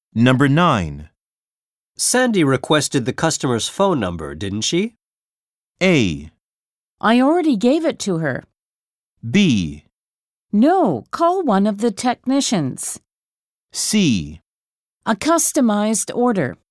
Number 9. Sandy requested the customer's phone number, didn't she? A. I already gave it to her. B. No, call one of the technicians. C. A customized order.